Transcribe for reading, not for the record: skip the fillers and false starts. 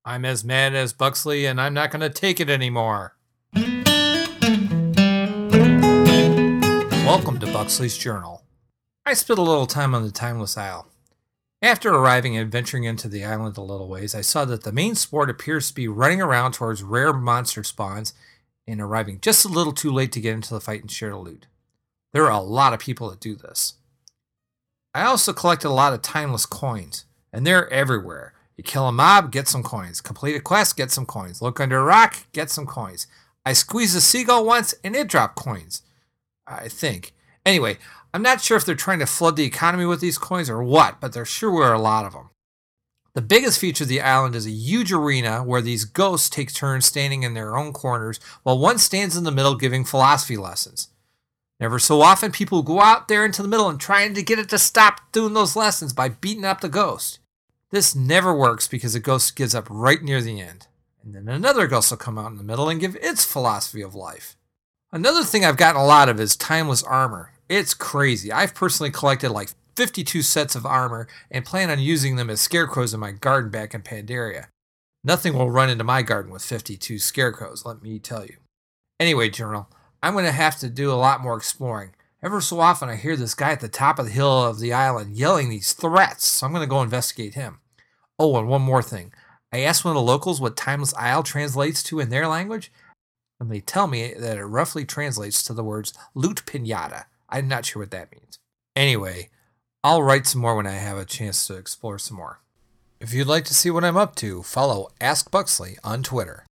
I'm as mad as Buxley, and I'm not going to take it anymore. Welcome to Buxley's Journal. I spent a little time on the Timeless Isle. After arriving and venturing into the island a little ways, I saw that the main sport appears to be running around towards rare monster spawns and arriving just a little too late to get into the fight and share the loot. There are a lot of people that do this. I also collected a lot of timeless coins, and they're everywhere. You kill a mob, get some coins. Complete a quest, get some coins. Look under a rock, get some coins. I squeezed a seagull once, and it dropped coins. I think. Anyway, I'm not sure if they're trying to flood the economy with these coins or what, but there sure were a lot of them. The biggest feature of the island is a huge arena where these ghosts take turns standing in their own corners while one stands in the middle giving philosophy lessons. Never so often, people go out there into the middle and trying to get it to stop doing those lessons by beating up the ghost. This never works because the ghost gives up right near the end. And then another ghost will come out in the middle and give its philosophy of life. Another thing I've gotten a lot of is timeless armor. It's crazy. I've personally collected like 52 sets of armor and plan on using them as scarecrows in my garden back in Pandaria. Nothing will run into my garden with 52 scarecrows, let me tell you. Anyway, Journal, I'm going to have to do a lot more exploring. Ever so often I hear this guy at the top of the hill of the island yelling these threats, so I'm going to go investigate him. Oh, and one more thing. I asked one of the locals what Timeless Isle translates to in their language, and they tell me that it roughly translates to the words loot pinata. I'm not sure what that means. Anyway, I'll write some more when I have a chance to explore some more. If you'd like to see what I'm up to, follow Ask Buxley on Twitter.